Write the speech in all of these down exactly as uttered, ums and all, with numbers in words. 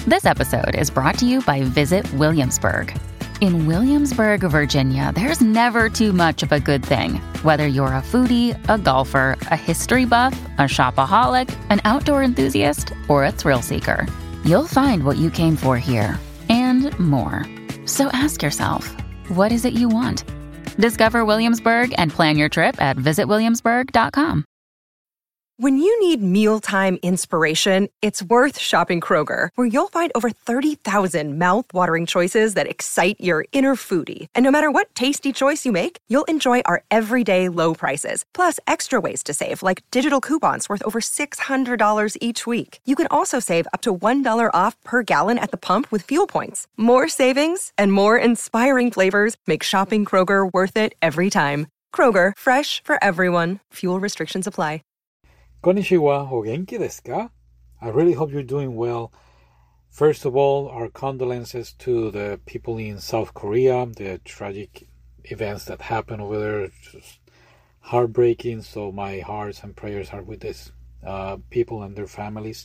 This episode is brought to you by Visit Williamsburg. In Williamsburg, Virginia, there's never too much of a good thing. Whether you're a foodie, a golfer, a history buff, a shopaholic, an outdoor enthusiast, or a thrill seeker, you'll find what you came for here and more. So ask yourself, what is it you want? Discover Williamsburg and plan your trip at visit williamsburg dot com. When you need mealtime inspiration, it's worth shopping Kroger, where you'll find over thirty thousand mouth-watering choices that excite your inner foodie. And no matter what tasty choice you make, you'll enjoy our everyday low prices, plus extra ways to save, like digital coupons worth over six hundred dollars each week. You can also save up to one dollar off per gallon at the pump with fuel points. More savings and more inspiring flavors make shopping Kroger worth it every time. Kroger, fresh for everyone. Fuel restrictions apply. Konnichiwa, o genki desu ka? I really hope you're doing well. First of all, our condolences to the people in South Korea, the tragic events that happened over there. Just heartbreaking, so my hearts and prayers are with these uh, people and their families.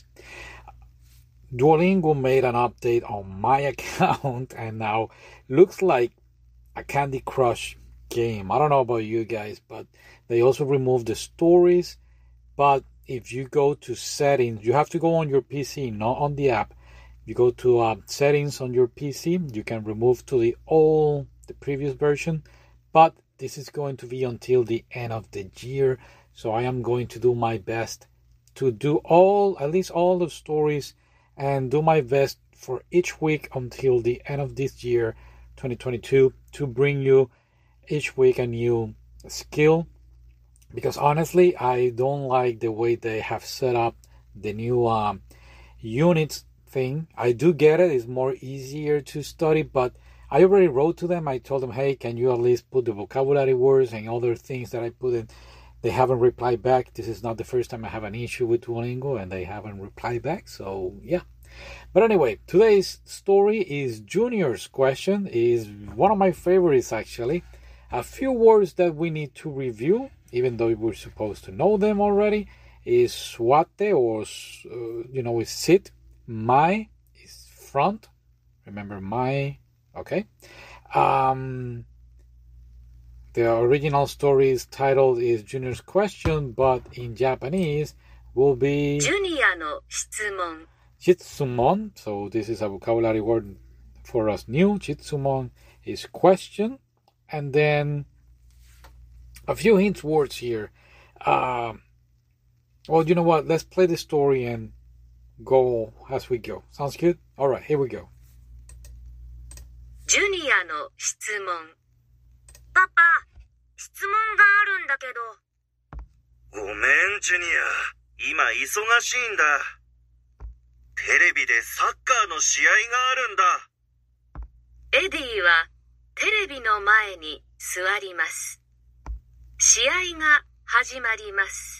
Duolingo made an update on my account, and now looks like a Candy Crush game. I don't know about you guys, but they also removed the stories. But if you go to settings, you have to go on your P C, not on the app. You go to uh, settings on your P C, you can remove to the old, the previous version. But this is going to be until the end of the year. So I am going to do my best to do all, at least all the stories, and do my best for each week until the end of this year, twenty twenty-two, to bring you each week a new skill. Because honestly, I don't like the way they have set up the new um, units thing. I do get it. It's more easier to study, but I already wrote to them. I told them, hey, can you at least put the vocabulary words and other things that I put in? They haven't replied back. This is not the first time I have an issue with Duolingo, and they haven't replied back. So, yeah. But anyway, today's story is Junior's question. Is one of my favorites, actually. A few words that we need to review, even though we're supposed to know them already, is swate, or, uh, you know, is sit. My is front. Remember my, okay. Um, the original story is titled is Junior's question, but in Japanese will be Junior no shitsumon. Shitsumon. So this is a vocabulary word for us new. Shitsumon is question. And then a few hint words here. Uh, well, you know what? Let's play the story and go as we go. Sounds good? All right, here we go. Junior no 質問。パパ、質問があるんだけど。ごめん、ジュニア。今忙しいんだ。テレビでサッカーの試合があるんだ。エディはテレビの前に座ります。試合が始まります。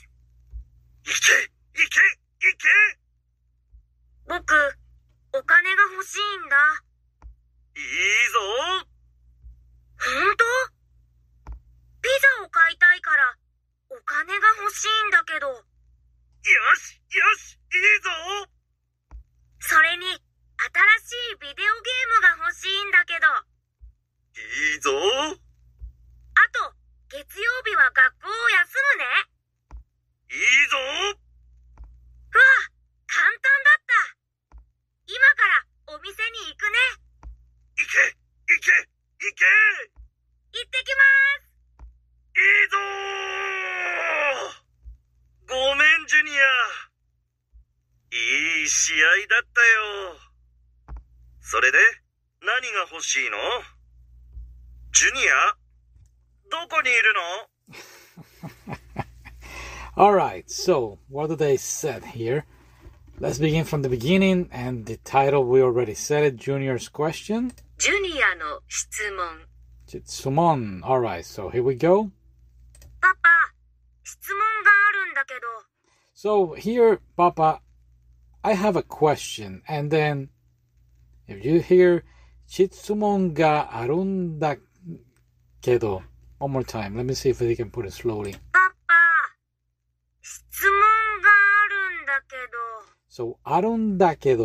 いけ、いけ、いけ！僕、お金が欲しいんだ。いいぞ！ほんと？ピザを買いたいから、お金が欲しいんだけど。よし、よし、いいぞ！それに、新しいビデオゲームが欲しいんだけど。いいぞ！あと、月曜日は学校を休むね。いいぞ！うわ、簡単だった。今からお店に行くね。行け、行け、行け！行ってきます。いいぞー！ごめん、ジュニア。いい試合だったよ。それで、何が欲しいの？ジュニア？どこにいるの？ Alright, so what do they said here? Let's begin from the beginning, and the title we already said it, Junior's question. Junior no 質問。 Shitsumon. Alright, so here we go. パパ、質問があるんだけど。 So here, Papa, I have a question, and then if you hear Shitsumon ga arun da kedo. One more time. Let me see if we can put it slowly. パパ、質問があるんだけど。 So, あるんだけど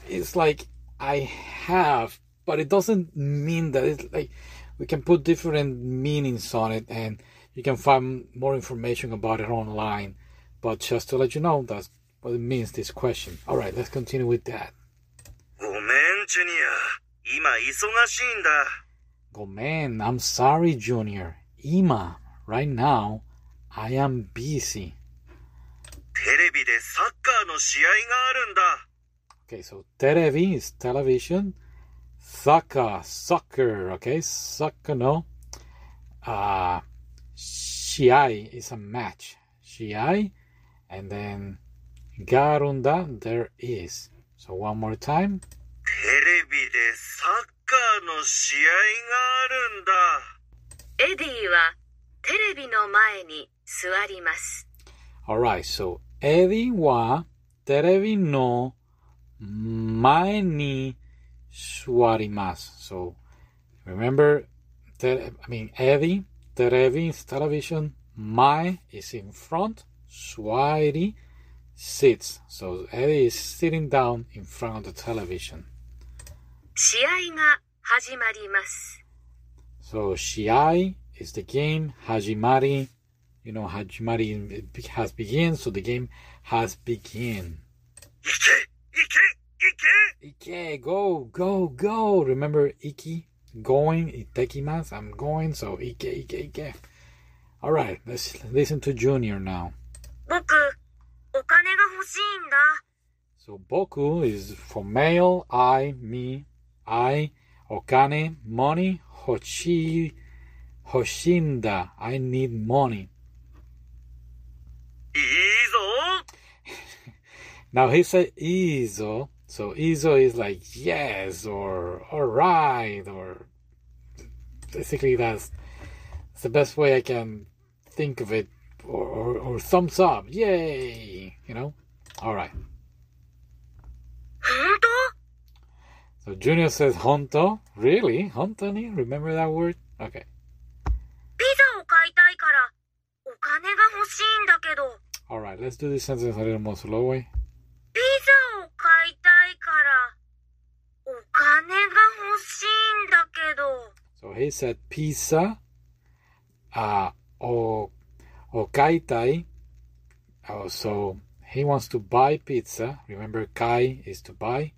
it's like I have, but it doesn't mean that it's like we can put different meanings on it, and you can find more information about it online. But just to let you know, that's what it means, this question. All right, let's continue with that. ごめん、ジュニア。今忙しいんだ。 ごめん、I'm sorry, Junior. 今 right now, I am busy. テレビでサッカーの試合があるんだ。 Okay, so テレビ is television. Soccer, soccer, okay? Soccer, no. Uh, 試合 is a match. 試合, and then があるんだ, there is. So one more time. テレビでサッカーの試合があるんだ。エディはテレビの前に座ります。 Alright, so エディはテレビの前に座ります。So remember, te- I mean, Eddie, テレビ is television, 前 is in front, 座り sits. So Eddie is sitting down in front of the television. 試合が始まります。 So 試合 is the game, 始まり, you know, 始まり has begun, so the game has begun. 行け行け行け Ike, go, go, go. Remember Iki, going, itekimasu, I'm going, so Ike, Ike, Ike. All right, let's listen to Junior now. 僕、お金が欲しいんだ。 So boku is for male, I, me, I, okane, money, hoshi, hoshinda, I need money. いいぞ Now he said izo, so izo is like yes or alright, or basically that's, that's the best way I can think of it, or, or, or thumbs up, yay, you know? Alright. 本当 So Junior says honto, really? Honto ni? Remember that word? Okay. ピザを買いたいからお金が欲しいんだけど。 Alright, let's do this sentence a little more slowly. ピザを買いたいからお金が欲しいんだけど。 So he said pizza, uh, o, o kaitai. Oh, so he wants to buy pizza. Remember, kai is to buy.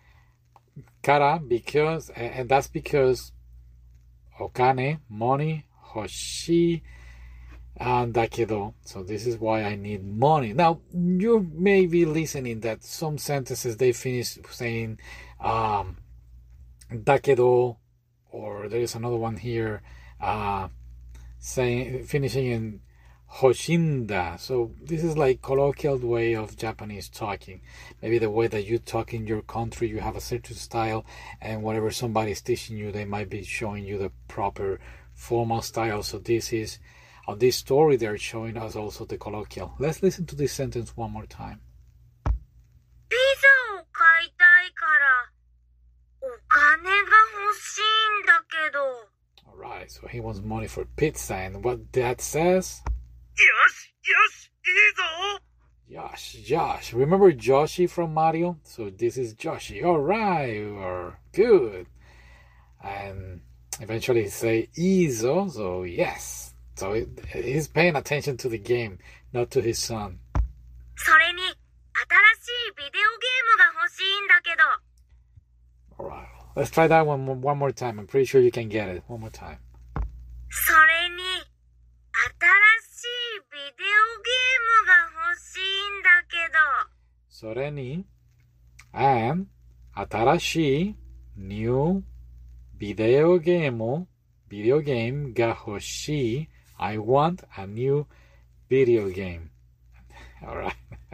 Kara, because, and that's because okane, money, hoshi, and dakedo. So this is why I need money. Now, you may be listening that some sentences they finish saying um, dakedo, or there is another one here uh, saying finishing in hoshinda. So this is like colloquial way of Japanese talking. Maybe the way that you talk in your country, you have a certain style, and whatever somebody is teaching you, they might be showing you the proper formal style. So this is, on this story, they're showing us also the colloquial. Let's listen to this sentence one more time. ピザを買いたいからお金が欲しいんだけど。 Alright, so he wants money for pizza, and what that says? よしよしいいぞ Josh, Josh. Remember Joshi from Mario? So this is Joshi. Alright, or good. And eventually say Izo, so yes. So it, he's paying attention to the game, not to his son. それに新しいビデオゲームが欲しいんだけど。 Alright, let's try that one, one more time. I'm pretty sure you can get it. One more time. それに新しいビデオゲームが欲しいんだけど。 それに and 新しい new ビデオゲーム video game が欲しい I want a new video game. Alright.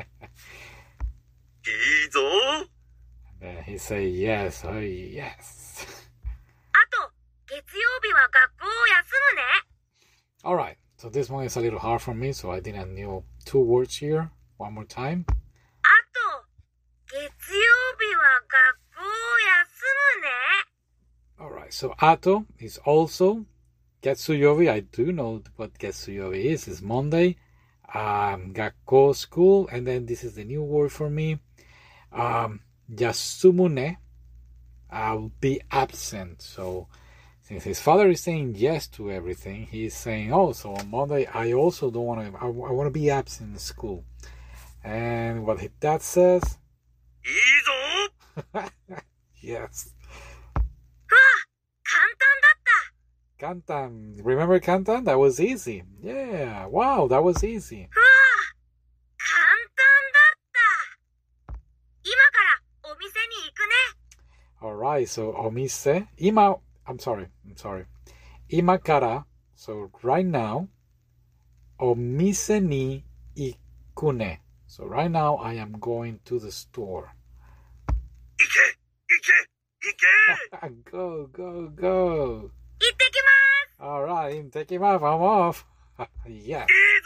いいぞ And then he say yes, oh yes. あと月曜日は学校を休むね。 Alright, so this one is a little hard for me, so I did a new two words here. One more time. あと月曜日は学校を休むね。 Alright, so ato is also getsuyobi. I do know what getsuyobi is. It's Monday. Um, gakko, school. And then this is the new word for me. Um, Yasumune, I'll be absent. So since his father is saying yes to everything, he's saying, oh, so on Monday I also don't want to, I, I want to be absent in school. And what his dad says, いいぞ yes. うわ、簡単だった。 Kantan. Remember Kantan? That was easy. Yeah. Wow, that was easy. うわ、簡単だった。今からお店に行くね。 Alright, so omise. Ima, I'm sorry, I'm sorry. Ima kara, so right now, omise ni ikune. So right now I am going to the store. 行け、行け、行け。 Go, go, go. 行ってきます。 Alright, I'm taking off, I'm off. Yes. いいぞ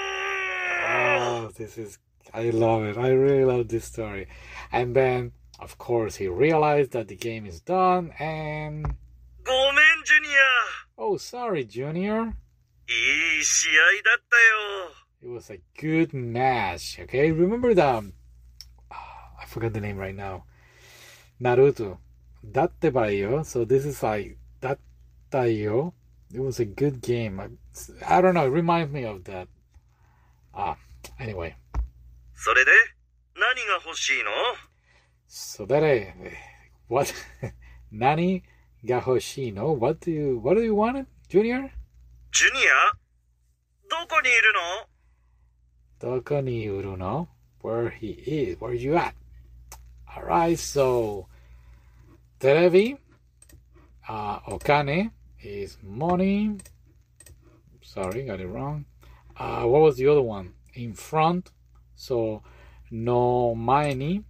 Oh, this is, I love it. I really love this story. And then, of course, he realized that the game is done and... ごめん、ジュニア。 Oh, sorry, Junior. いい試合だったよ。 It was a good match, okay? Remember the... Oh, I forgot the name right now. Naruto. Dattebayo. So this is like Dattayo. It was a good game. I, I don't know. It reminds me of that. Ah, anyway. それで、何が欲しいの？ So that I... What? Nani ga hoshino? What do you... What do you want, Junior? ジュニア？どこにいるの？ Doko ni uru no? Where he is. Where you at? Alright, so... Terebi. Uh, okane is money. Sorry, got it wrong. Uh, what was the other one? In front. So, no maeni.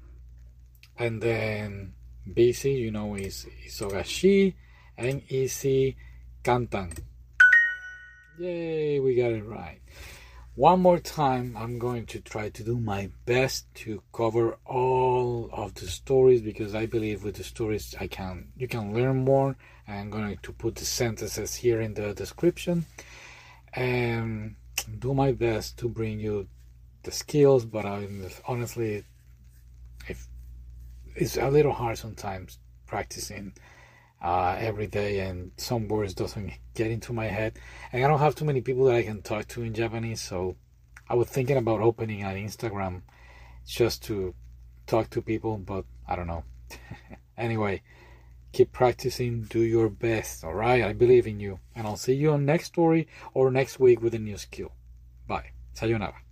And then, busy, you know, is isogashi. And easy, kantan. Yay, we got it right. One more time, I'm going to try to do my best to cover all of the stories because I believe with the stories I can you can learn more. I'm going to put the sentences here in the description and do my best to bring you the skills, but I'm honestly if it's a little hard sometimes practicing uh, every day, and some words doesn't get into my head, and I don't have too many people that I can talk to in Japanese, so I was thinking about opening an Instagram just to talk to people, but I don't know. Anyway, keep practicing, do your best, alright? I believe in you, and I'll see you on next story or next week with a new skill. Bye. Sayonara.